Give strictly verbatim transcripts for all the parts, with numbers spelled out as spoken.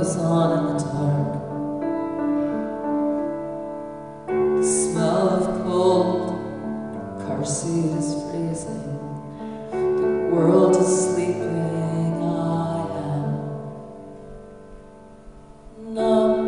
goes on in the dark. The smell of cold, car seat is freezing. The world is sleeping, I am numb.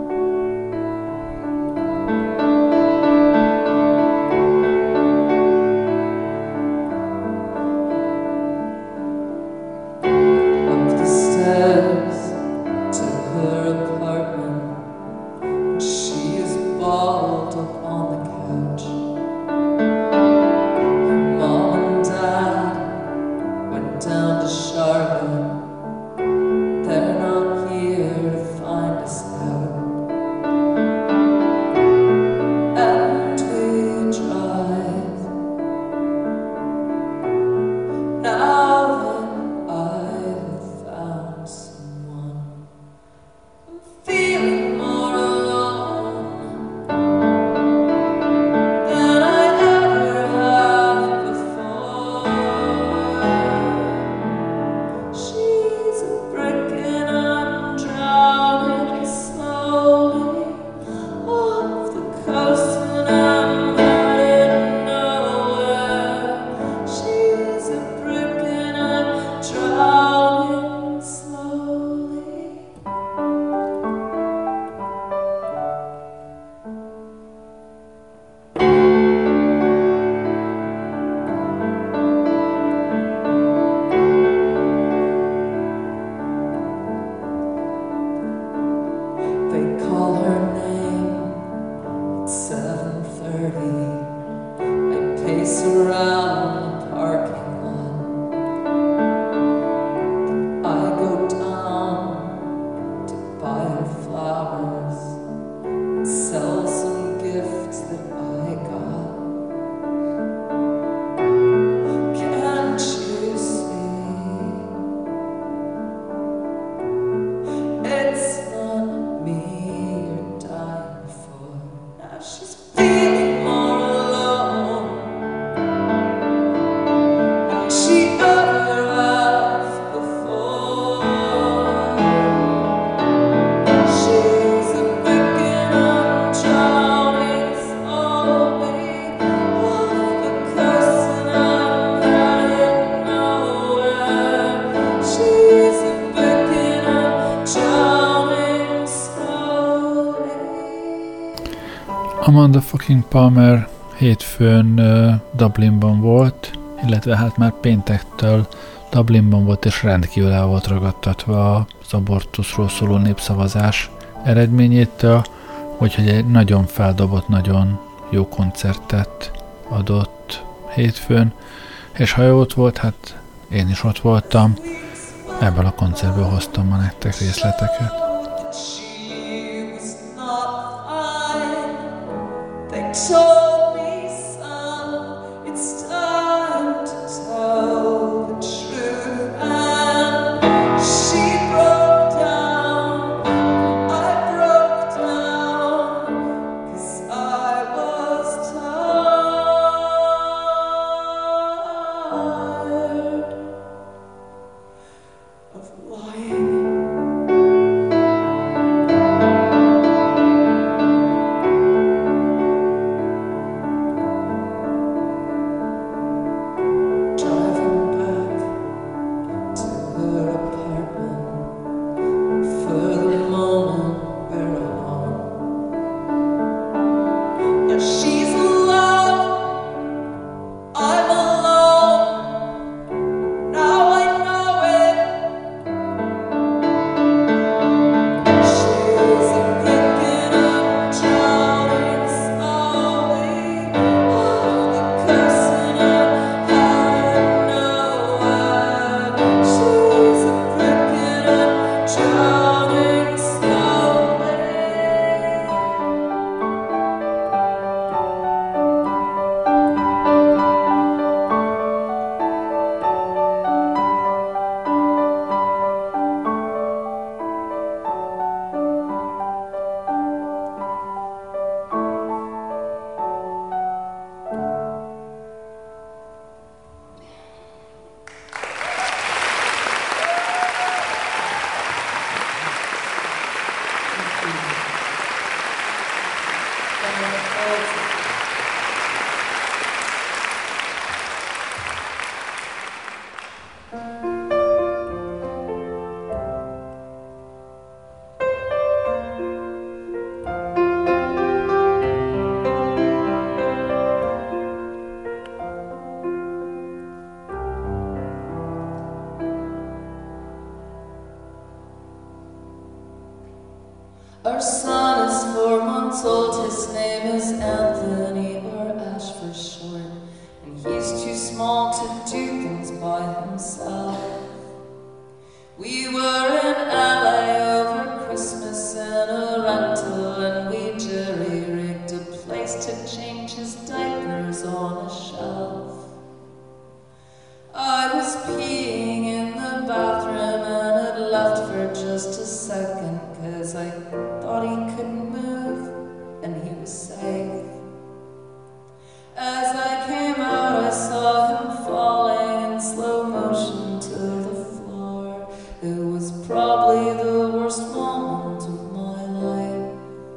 Amanda fucking Palmer hétfőn uh, Dublinban volt, illetve hát már péntektől Dublinban volt, és rendkívül el volt ragadtatva az abortuszról szóló népszavazás eredményétől, úgyhogy egy nagyon feldobott, nagyon jó koncertet adott hétfőn, és ha jó ott volt, hát én is ott voltam, ebből a koncertből hoztam ma nektek részleteket. Told me, son, it's time to tell the truth, and she broke down, I broke down, 'cause I was tired of lying. Our son is four months old, his name is Anthony, or Ash for short, and he's too small to do things by himself. We were in L A over Christmas in a rental, and we jerry-rigged a place to change his diapers on a shelf. I was peeing in the bathroom and had left for just a second, 'cause I thought he couldn't move and he was safe. As I came out, I saw him falling in slow motion to the floor. It was probably the worst moment of my life.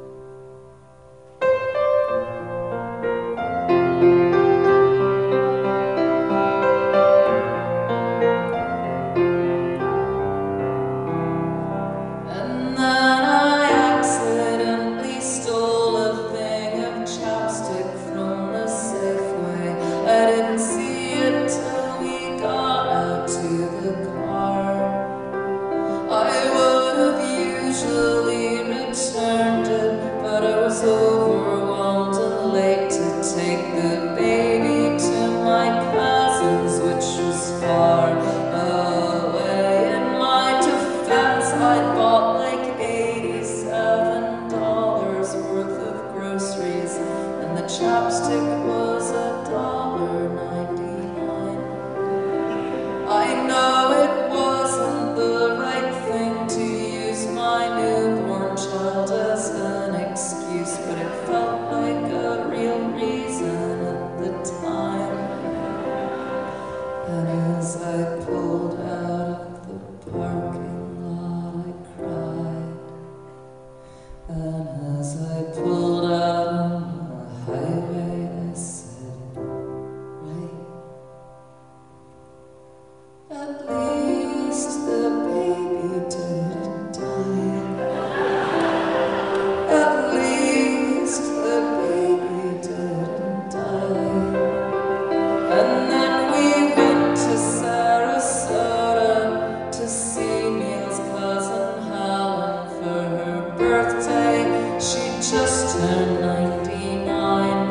And then I accidentally stole a thing of chapstick from the Safeway. I didn't see it till we got out to the car. I would have usually returned it, but I was overwhelmed and late to take the baby to my cousin's, which was far away. In my defense, I'd bought like eighty-seven dollars worth of groceries, and the chapstick was a dollar ninety-nine. I know it wasn't the right thing to use my newborn child as an excuse, but it felt like a real reason at the time. And as I pulled out of the parking lot, I cried. And as I pulled out on the highway, I said, right. At least the baby didn't die. At least the baby didn't die. And then we went to Sarasota to see Neil's cousin Helen for her birthday. She just turned ninety-nine.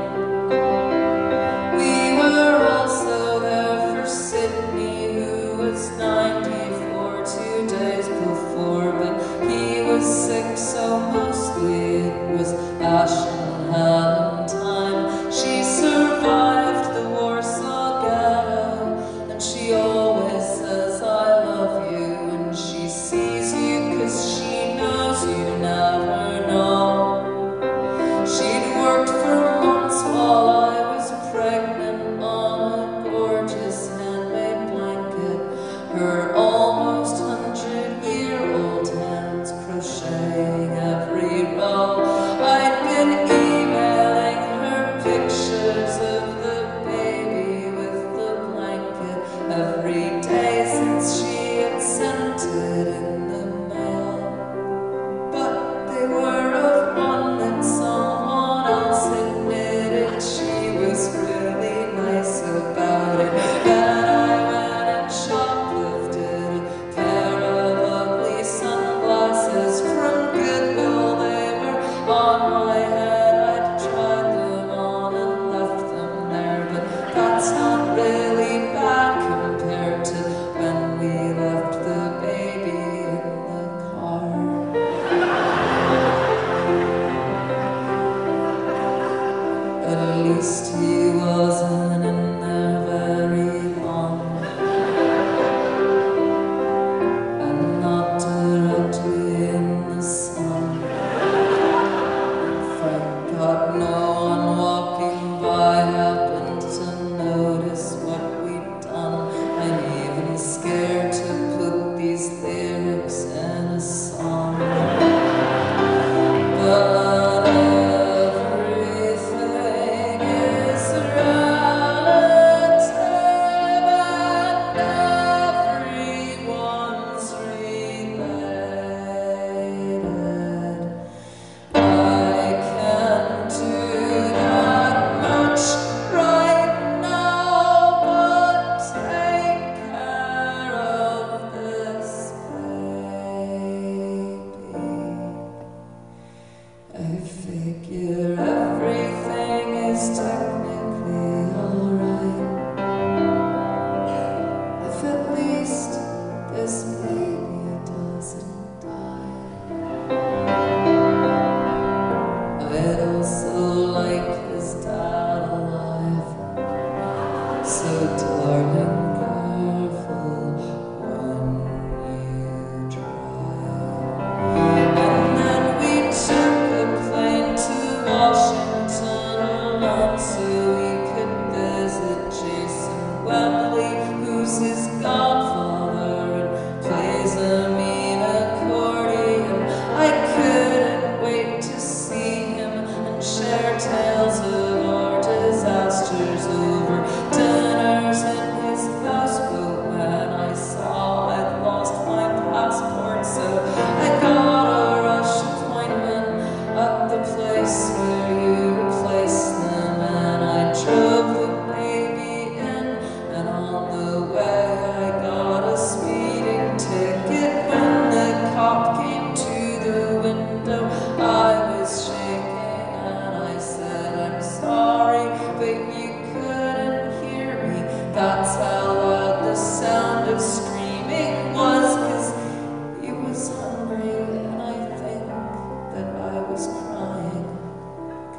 We were also there for Sydney, who was ninety-four two days before, but he was sick, so mostly it was Ash and Helen time. She survived the Warsaw Ghetto, and she always says I love you when she sees you, 'cause she knows you never know. She'd worked for months while I was pregnant on a gorgeous handmade blanket, her almost hundred-year-old hands crocheting every row. I'd been emailing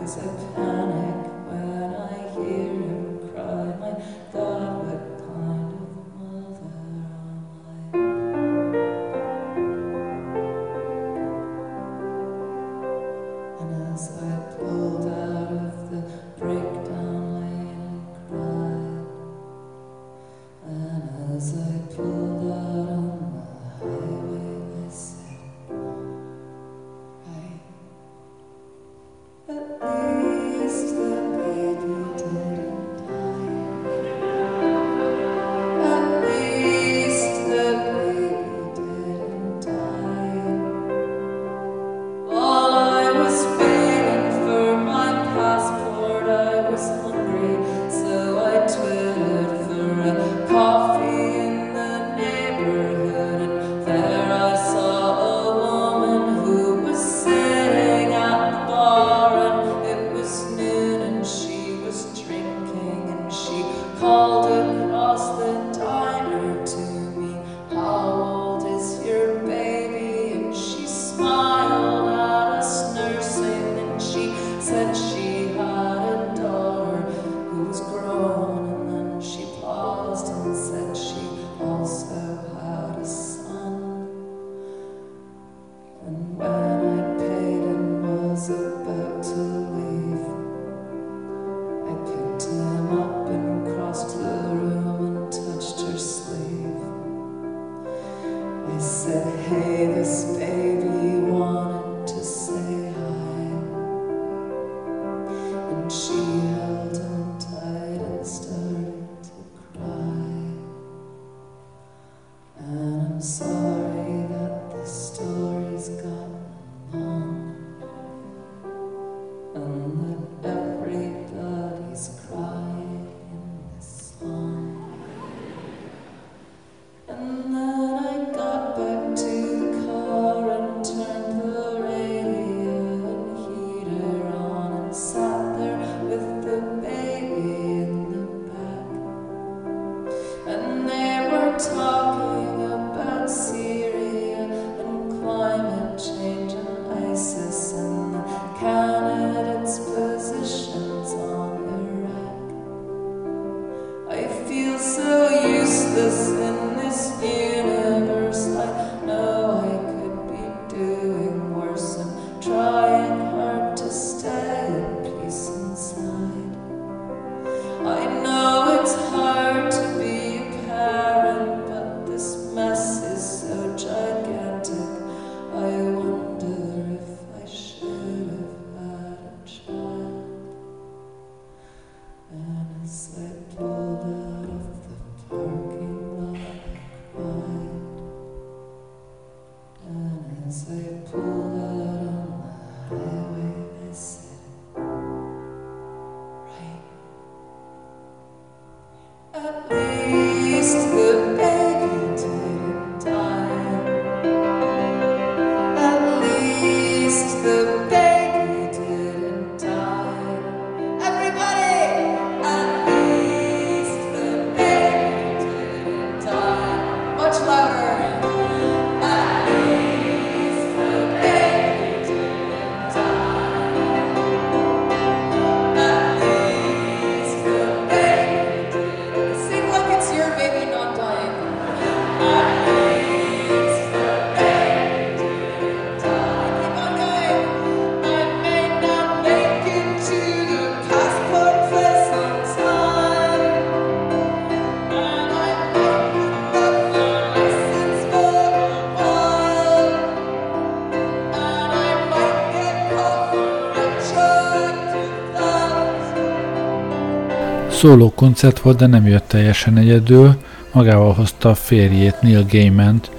Szóló koncert volt, de nem jött teljesen egyedül. Magával hozta a férjét, Neil Gaimant,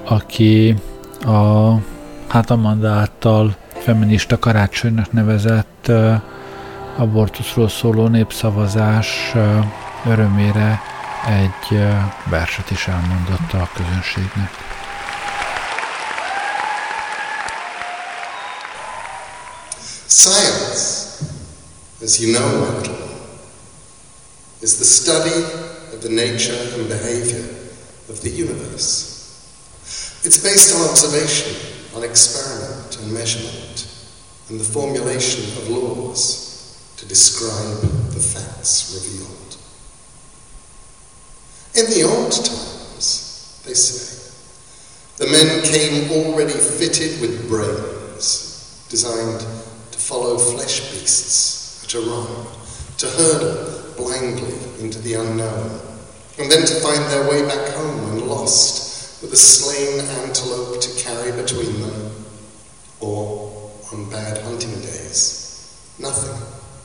aki a, hát Amanda által feminista karácsonynak nevezett uh, abortuszról szóló népszavazás uh, örömére egy uh, verset is elmondotta a közönségnek. Science, as you know, my little one, is the study of the nature and behavior of the universe. It's based on observation, on experiment and measurement. and the formulation of laws to describe the facts revealed. In the old times, they say, the men came already fitted with brains, designed to follow flesh beasts at a run, to hurdle blindly into the unknown, and then to find their way back home when lost, with a slain antelope to carry between them, or, on bad hunting days, nothing.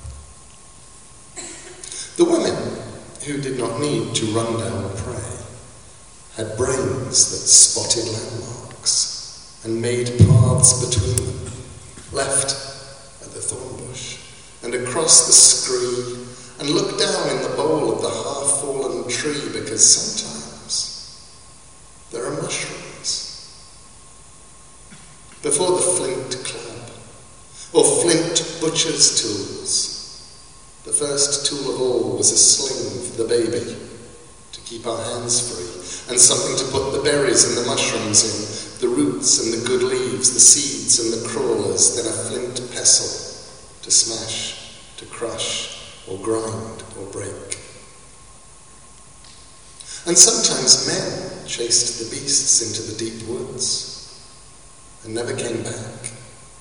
The women, who did not need to run down prey, had brains that spotted landmarks and made paths between them, left at the thorn bush and across the scree, and looked down in the bowl of the half-fallen tree, because sometimes there are mushrooms. Before the flint club, or flint butcher's tools, the first tool of all was a sling for the baby, to keep our hands free, and something to put the berries and the mushrooms in, the roots and the good leaves, the seeds and the crawlers, then a flint pestle to smash, to crush, or grind, or break. And sometimes men chased the beasts into the deep woods and never came back.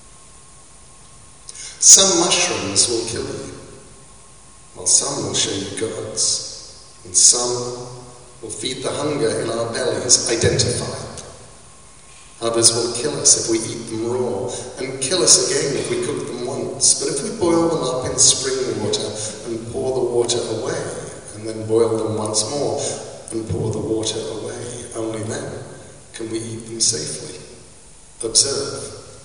Some mushrooms will kill you, while some will show you gods, and some will feed the hunger in our bellies, identified. Others will kill us if we eat them raw, and kill us again if we cook them once. But if we boil them up in spring water and pour the water away, and then boil them once more and pour the water away, only then can we eat them safely. Observe.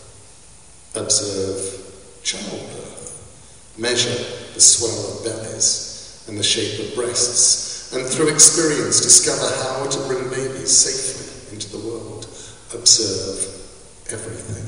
Observe childbirth. Measure the swell of bellies and the shape of breasts, and through experience discover how to bring babies safely into the world. Observe everything.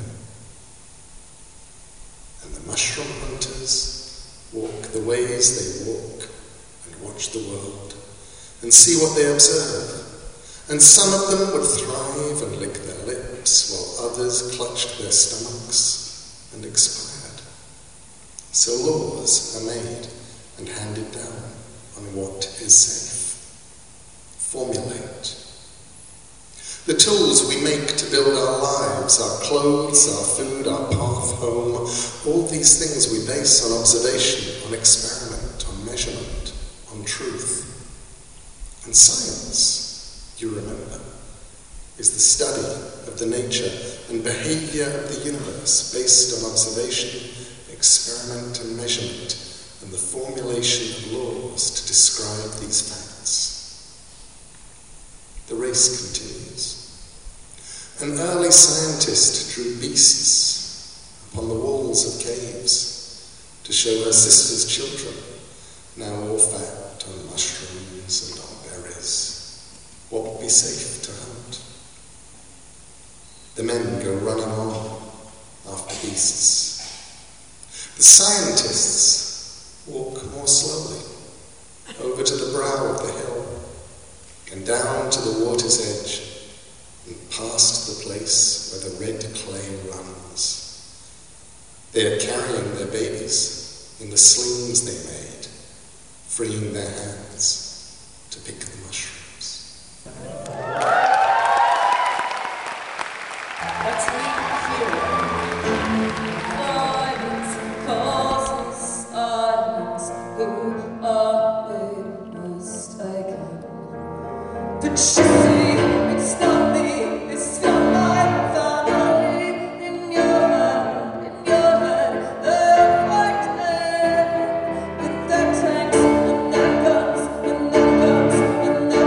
And the mushroom hunters walk the ways they walk and watch the world and see what they observe. And some of them would thrive and lick their lips, while others clutched their stomachs and expired. So laws are made and handed down on what is safe. Formulate. The tools we make to build our lives, our clothes, our food, our path home, all these things we base on observation, on experiment, on measurement, on truth. And science, you remember, is the study of the nature and behavior of the universe based on observation, experiment and measurement, and the formulation of laws to describe these facts. The race continues. An early scientist drew beasts upon the walls of caves to show her sister's children, now all fat on mushrooms and on berries, what would be safe to hunt. The men go running on after beasts. The scientists walk more slowly over to the brow of the hill and down to the water's edge and past the place where the red clay runs. They are carrying their babies in the slings they made, freeing their hands to pick the mushrooms. Let's leave here. Avoidance causes silence. Who are they mistaken? Did she see it's not me, it's not my family? In your head, in your head, they're fighting with their tanks and their guns and their guns and their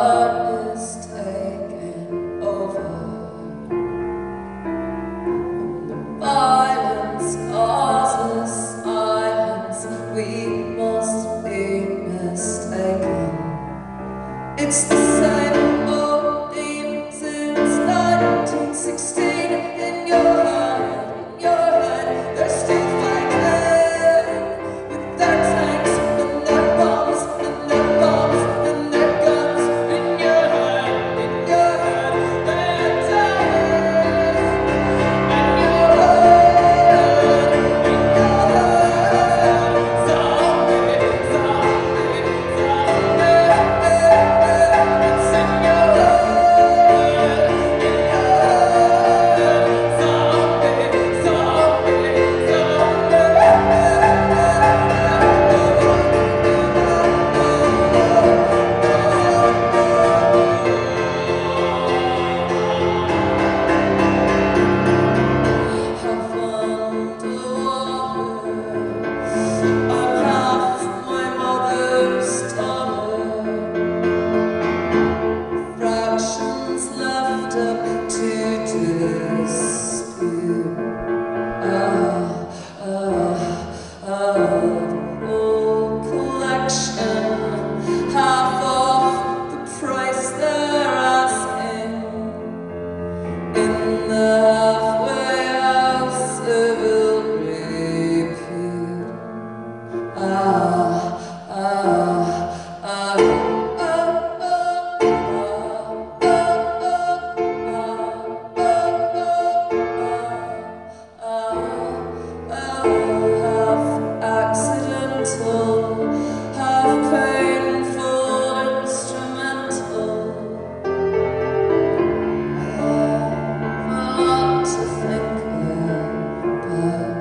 heart is taking over. Violence causes silence. We must be mistaken. It's the same old theme since nineteen sixteen. In your head, in your head, they're still fighting with their tanks and their bombs and their bombs and their guns. In your head, in your head, they're dying. In your head, in your head, zombie, zombie, zombie. It's in your head, in your head, zombie, zombie, Have underwater. I'm half my mother's daughter. Fractions left up to dispute. Ah, ah, ah, full collection, half off the price they're asking. In the halfway house of ill repute. Ah, ah, ah, ah, ah, half accidental, half painful, instrumental. A lot to think about.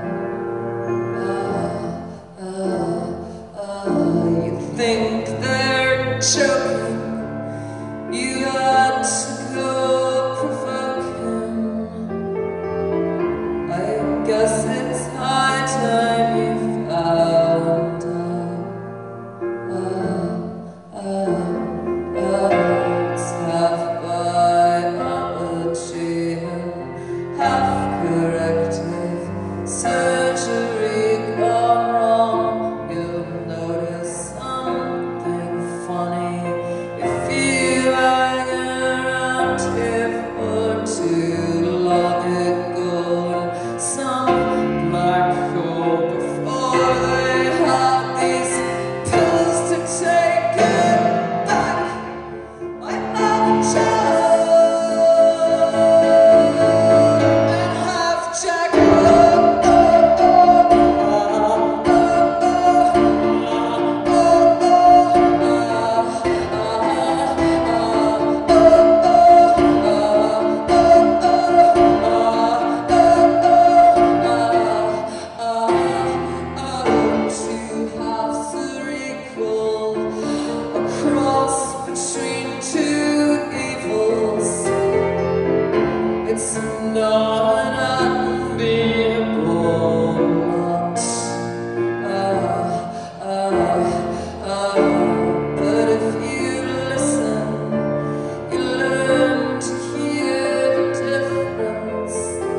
Ah, ah, ah, you think they're joking? You had to go provoke him. I guess it's high time you found out. Ah, ah, ah, it's half biology and half corrective surgery gone wrong. You'll notice something funny if you hang around here for too long ago. Some black hole before they had these pills to take it back. My mother child and half Jack. Oh, oh, oh, oh, two halves are equal, a cross between two evils. It's not an unbeatable lot. Ah, ah, ah. But if you listen, you learn to hear the difference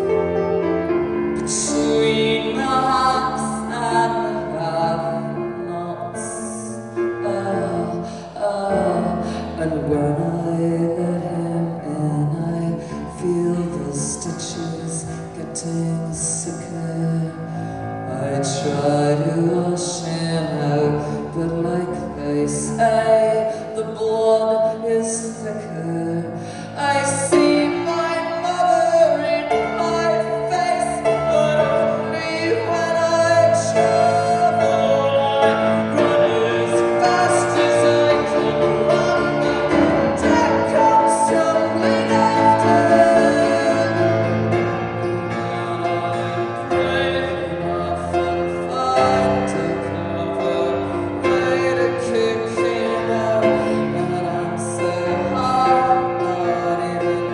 between the haves and the have-nots. Ah, ah. And when I let him in, I feel the stitches getting sicker. I try to wash him out, but like they say, the blood is thicker. I see my mother in my face, but only when I travel. I run as fast as I can run, but death comes tumbling after. I'm brave enough and find a clever way to kick him out, and I'm so hard, not even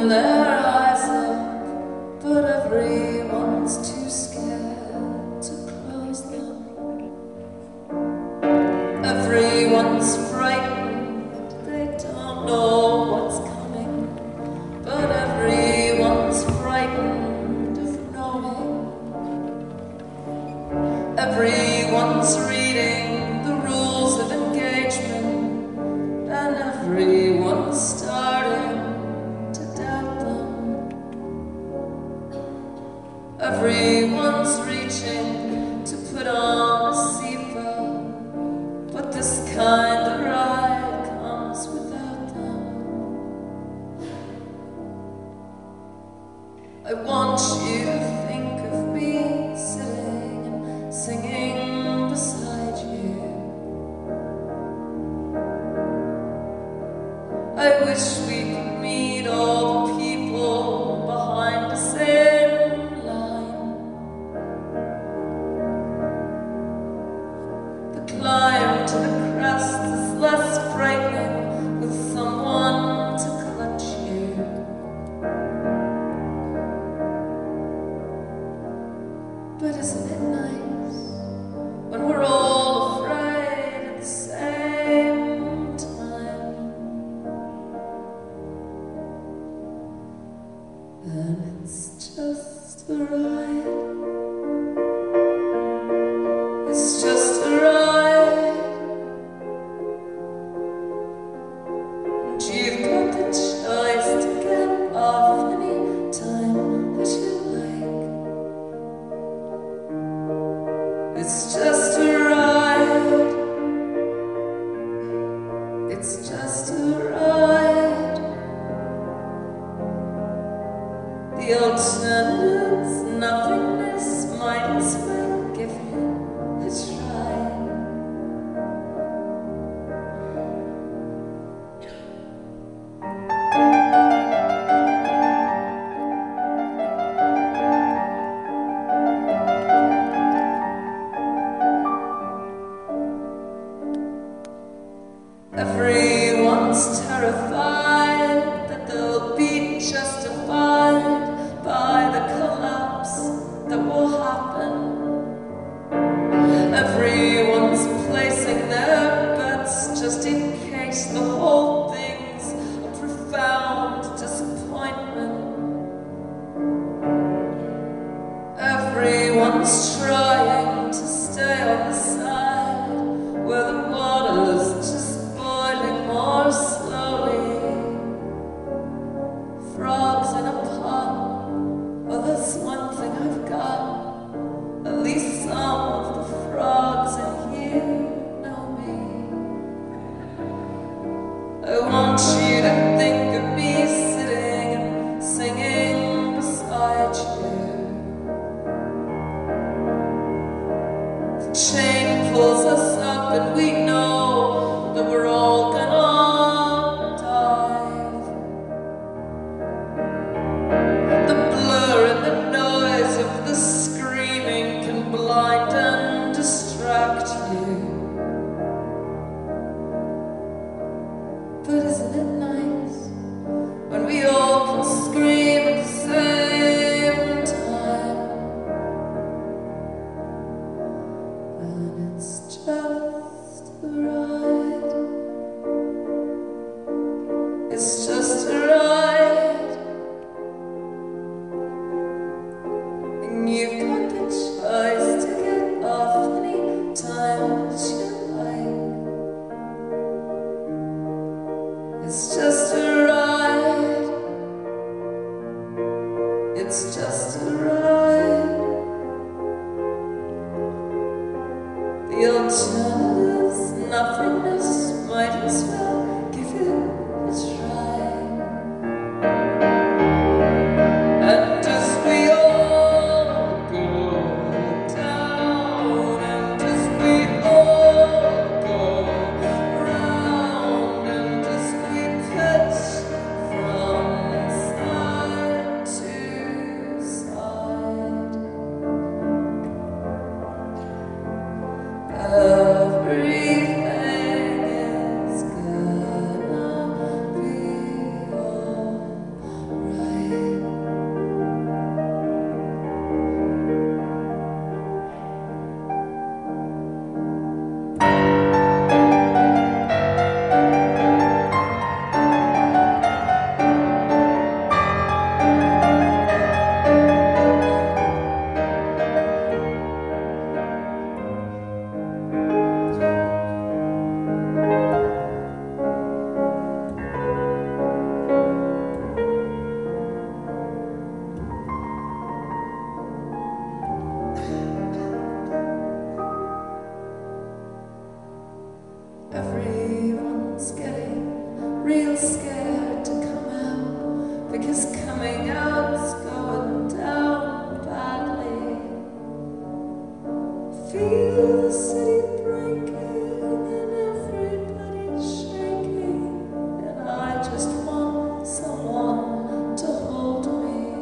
open their eyes up, but everyone's too scared to close them. Everyone's frightened, they don't know what's coming, but everyone's frightened of knowing. Everyone's reading the rules of engagement, and everyone's starting to doubt them. Everyone's reaching to put on a seatbelt, but this kind of ride comes without them. I want you to think of me sitting and singing beside you. I wish we could meet all the people behind us in line. The climb to the crest is less frightening with someone to clutch you. But isn't it nice when we're all afraid at the same time? And it's just a ride. It's just a ride. And you've got the choice to get off any time that you like. It's just a ride. It's just a ride. The alternative's nothingness, might as well give it a try. Everyone's terrified that they'll be justified by the collapse that will happen. Everyone's placing their bets just in case the whole thing's a profound disappointment. Everyone's trying to stay on the side where the water's just boiling more slowly. Frogs in a pot, well, that's one thing I've got. At least some of the frogs in here know me. I want you to think of me sitting and singing beside you. The chain pulls us up and we know that we're all gonna dive. The blur and the noise of the screaming can blind and distract you. But isn't it nice when we all can scream at the same time? And it's just a ride. It's just a ride. And you've got the choice to get off any time that you like. It's just a ride. It's just a ride. The alternative's nothingness, might as well give it a try. And as we all go down, and as we all go round, and as we pitch from side to side, uh, is coming out, it's going down badly. Feel the city breaking and everybody shaking, and I just want someone to hold me.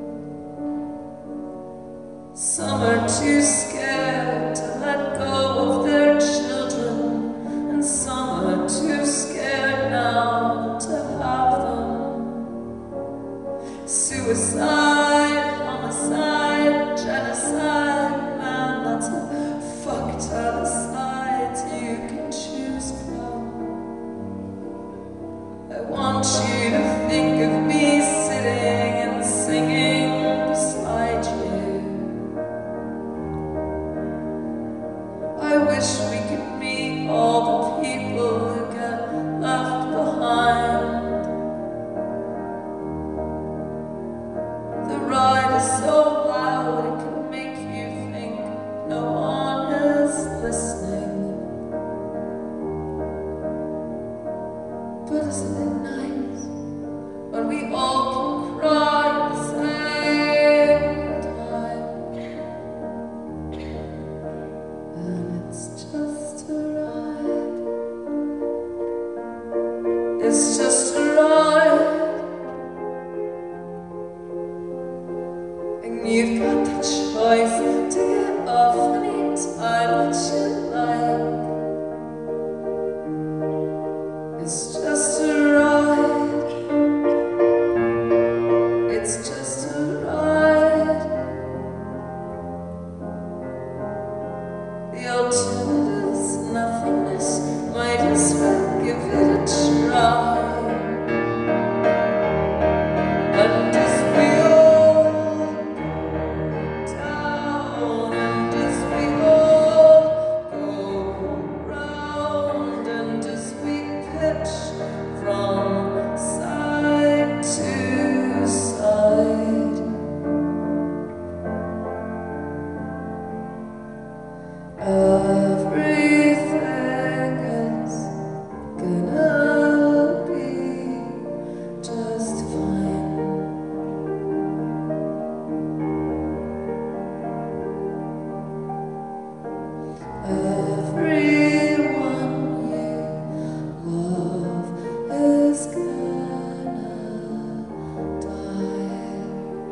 Some are too scared to let go of their children, and some are too scared now to have them. Suicide, homicide, genocide, man, that's a fucked other sides you can choose from. I want you to think of me sitting and singing beside you. I wish we could meet all the people who get left behind. The ride is so loud it can make you think no one is listening. But isn't it nice when we all can cry at the same time? And it's just a ride. It's just a ride. And you've got the choice to get off anytime that you like. It's just a ride. It's just a ride. The alternative's nothingness. Might as well give it a try. And as we all go down, and as we all go round, and as we pitch from side to side, everything is gonna be just fine. Everyone you love is gonna die.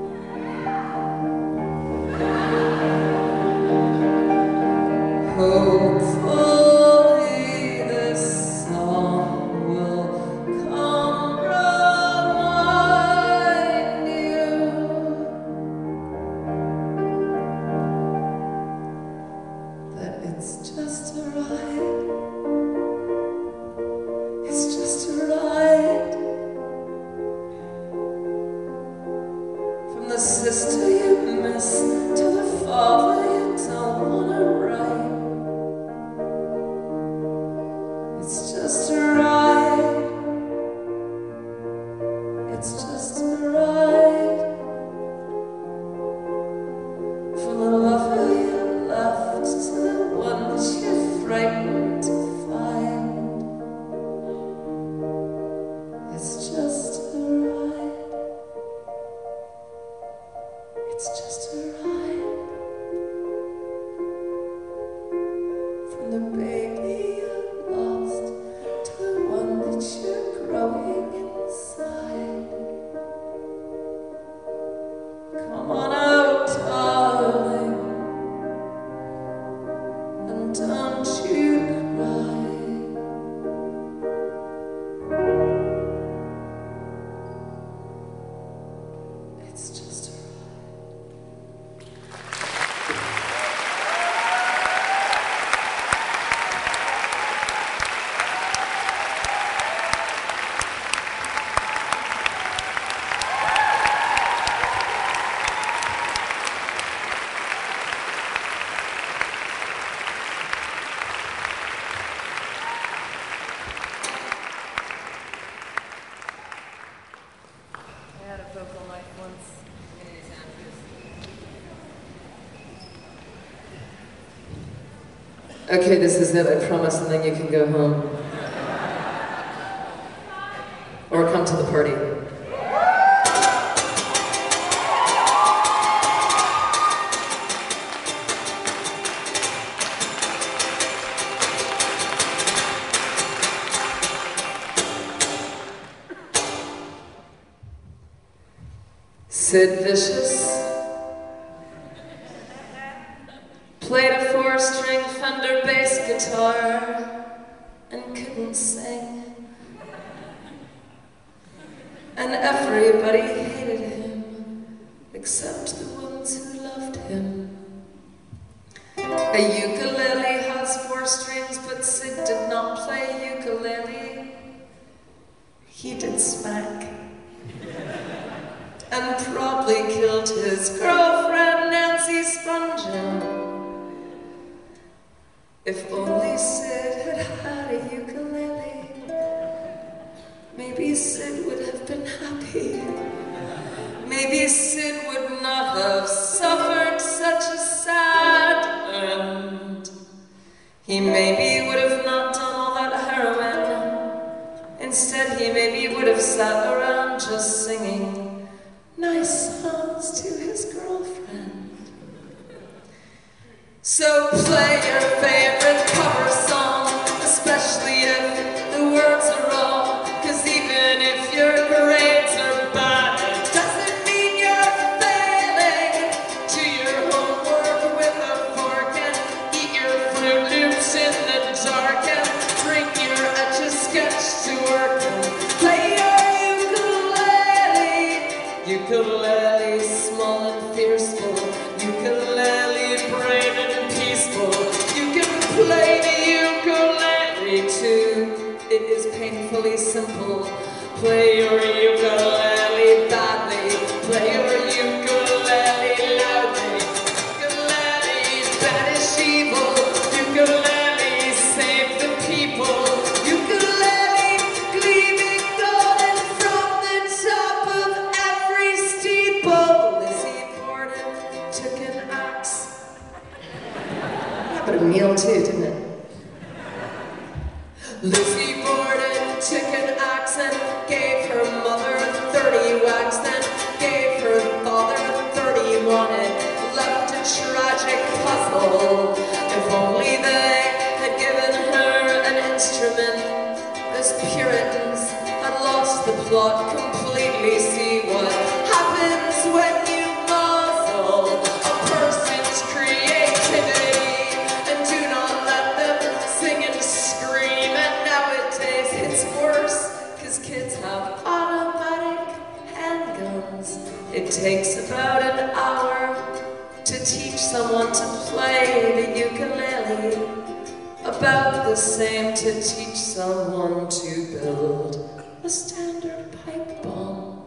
Hopefully this song will come remind you that it's just a ride. It's just a ride. From the sister you miss to the father you don't wanna write. It's just a ride. It's just a ride. From the lover you left to the one that you're frightened to find. It's just a ride. It's just a ride. From the baby you lost to the one that you're growing inside. Come on out, darling, and don't you cry. It's just a ride. I had a vocal night once. Okay, this is it, I promise, and then you can go home. Or come to the party. Sid Vicious played a four-string Fender bass guitar and couldn't sing. And everybody hated him, except the ones who loved him. A ukulele has four strings, but Sid did not play ukulele. He did smack. And probably killed his girlfriend, Nancy Spungen. If only Sid had had a ukulele, maybe Sid would have been happy. Maybe Sid would not have suffered such a sad end. He maybe would have not done all that heroin. Instead, he maybe would have sat around just singing nice songs to his girlfriend. So play your favorite cover song, especially if the words are wrong. Cause even if your grades are bad, it doesn't mean you're failing. Do your homework with a fork and eat your Fruit Loops in the dark and bring your Etch-a-Sketch to work and play your ukulele. Ukulele, small and fearful. Ukulele, brave and peaceful. You can play the ukulele too. It is painfully simple. Play your ukulele badly. Play your ukulele loudly. Ukulele, banish evil. Ukulele, save the people. Ukulele, gleaming golden from the top of every steeple. Lizzie Borden took an axe. Yeah, but a meal too, didn't it? Lizzie Borden took an axe and gave her mother thirty whacks, then gave her father thirty-one. It left a tragic puzzle. If only they had given her an instrument. As Puritans had lost the plot completely. See what happens when you muzzle a person's creativity and do not let them sing and scream. And nowadays it's worse, cause kids have automatic handguns. It takes about an hour to teach someone to play the ukulele. About the same to teach someone to build a standard pipe bomb.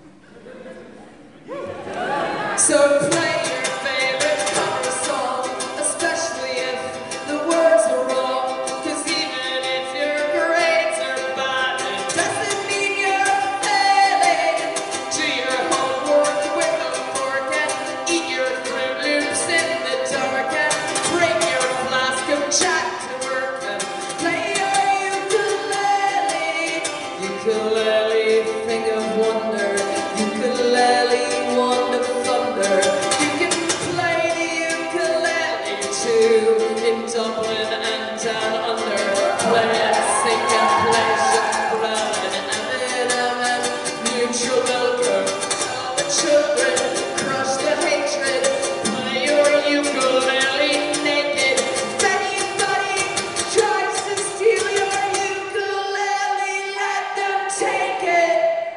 So play your favorite cover song, especially if the words are wrong. Cause even if your grades are bad, it doesn't mean you're failing. Do your homework with a fork and eat your Fruit Loops in the dark and bring your flask of Jack to work and play your ukulele. Ukulele, thing of wonder. Ukulele, wand of thunder. You can play the ukulele too in Dublin and down under. Play and sing and play Chuck Brown and Eminem and Neutral Milker. Tell the children, crush the hatred. Play your ukulele naked. If anybody tries to steal your ukulele, let them take it.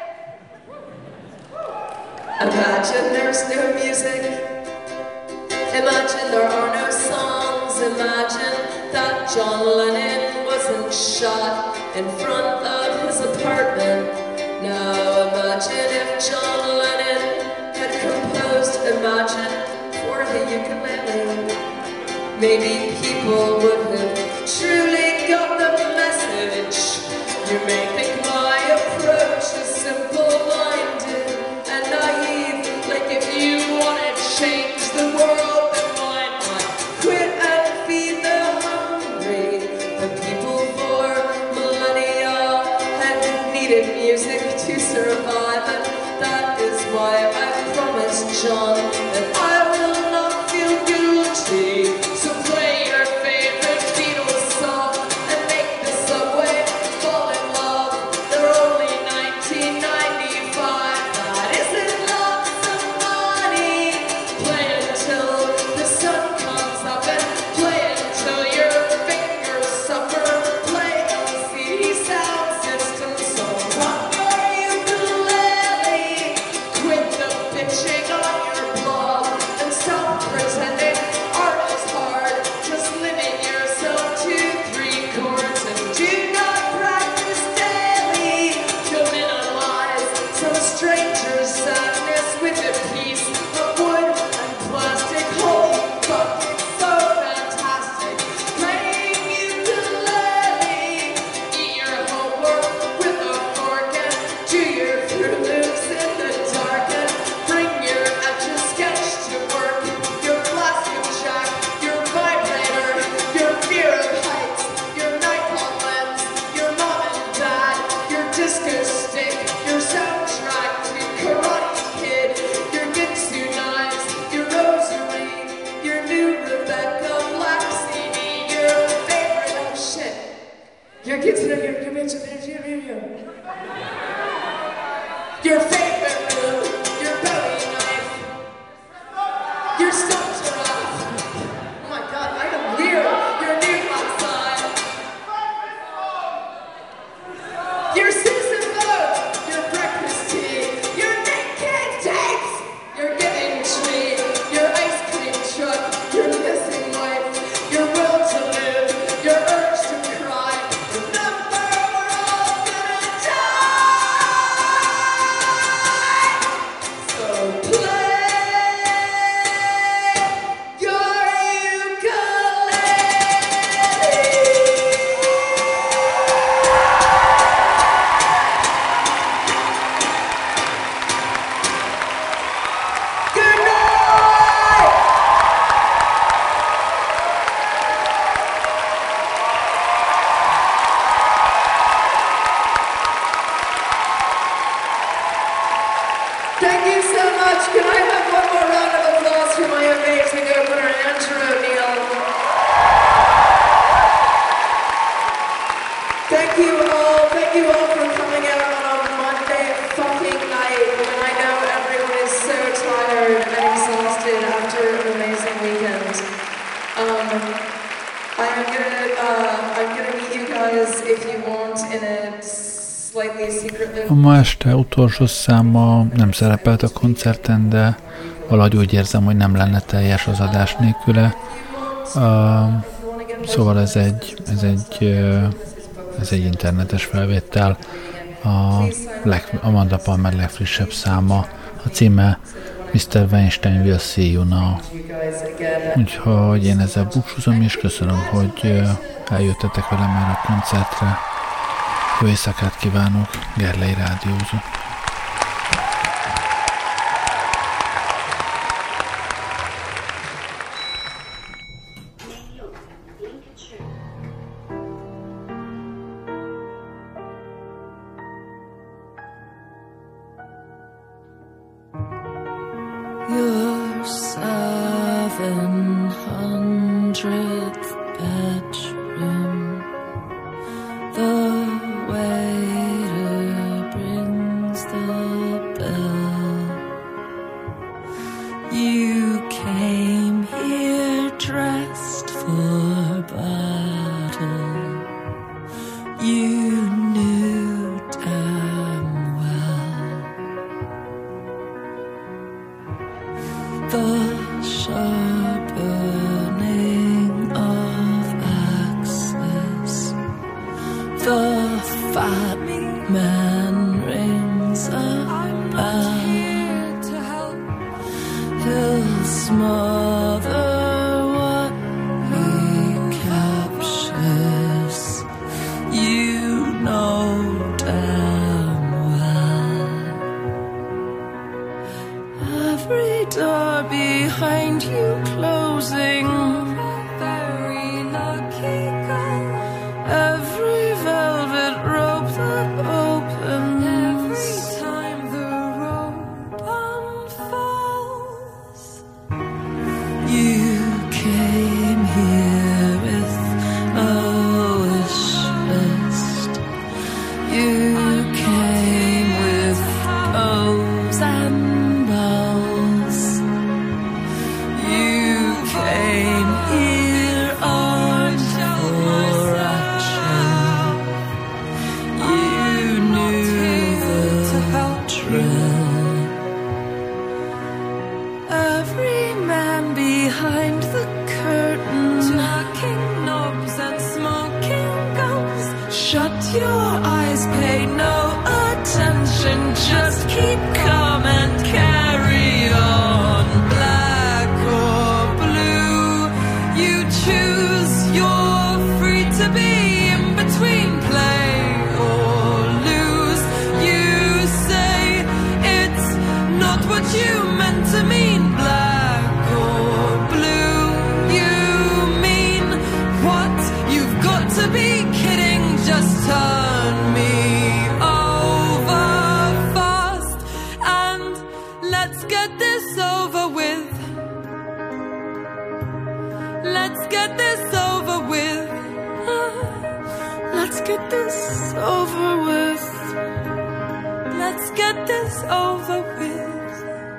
Imagine there's no music. Imagine there are no songs. Imagine that John Lennon wasn't shot in front of his apartment. Now imagine if John Lennon had composed Imagine for the ukulele. Maybe people would have truly got the message. You may think my approach is simple-minded and naive. Like if you want to change the world, then why not quit and feed the hungry? The people for millennia had needed music to survive, and that is why I promised John that I will not feel guilty. So play your favorite Beatles song and make the subway fall in love. They're only nineteen ninety-five. That isn't love. A ma este utolsó száma nem szerepelt a koncerten, de valahogy úgy érzem, hogy nem lenne teljes az adás nélküle. Uh, szóval ez egy, ez egy, uh, ez egy internetes felvétel. A leg, Amanda Palmer legfrissebb száma. A címe miszter Weinstein Will See You Now. Úgyhogy én ezzel búcsúzom, és köszönöm, hogy eljöttetek velem már a koncertre. Jó éjszakát kívánok, Gerlei rádiózó. Your seven hundredth bedroom, the waiter brings the bell. You came here dressed for battle. You knew damn well the sharpening of axes. The fat man rings a bell. He'll smother what he captures. You know damn well. Every door behind you closing. Very lucky girl. Every velvet rope that opens. Every time the rope unfolds. You came here with a wish list. You came with bows and balls. You came here armed for action. You knew the drill. Every man behind the curtain, knocking knobs and smoking gums. Shut your eyes, pay no attention, just keep calm and carry on. Black or blue, you choose, you're free to be in between, play or lose. You say it's not what you meant to mean. Black or blue, you mean what? You've got to be kidding, just turn me over fast and let's get this over with. Let's get this over with. Let's get this over with. Let's get this over with.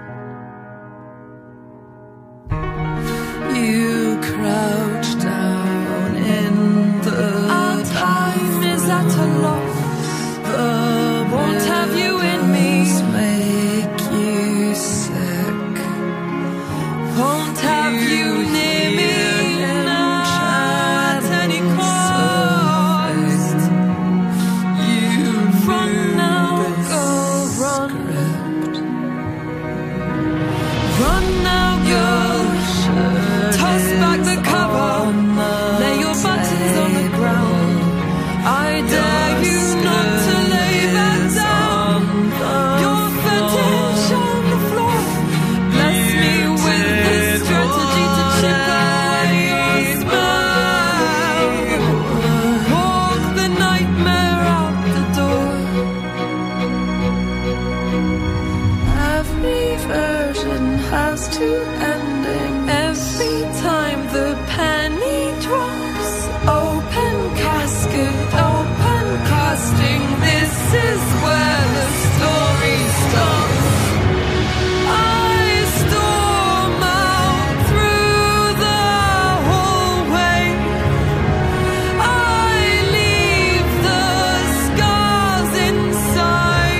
You crouch down in the Our time is at a loss. The won't have you in me. Make you sick. Won't have you near me. Not at any cost. You from now go run. Run now go. Toss back the cover. Lay your buttons on the ground. I dare you not to lay that down. Your fetish on the floor. Bless me with this strategy to chip away your smile. Walk the nightmare out the door. Every version has two endings. Every time the penny drops. Open casket, open casting. This is where the story stops. I storm out through the hallway. I leave the scars inside.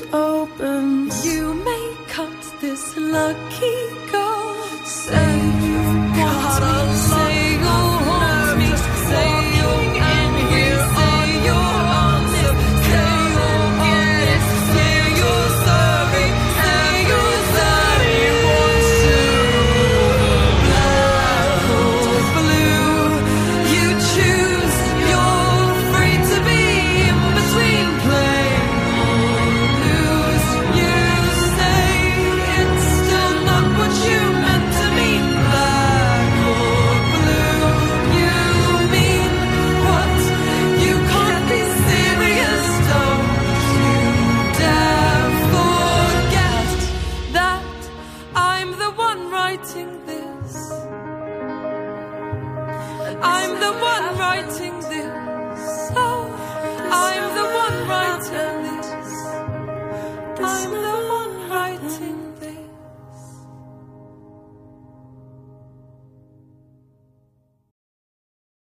open. You may cut this lucky goal. Say you've got me, say you'll hold me, say you'll end here, say you're on this, say you'll get it, say you're sorry, say you're sorry. Wants to black or blue, you choose. You're free to be in between play or lose. You say it's still not what you meant to mean. Black or blue, you mean what you can't be serious. Don't you dare forget that I'm the one writing this. I'm the one writing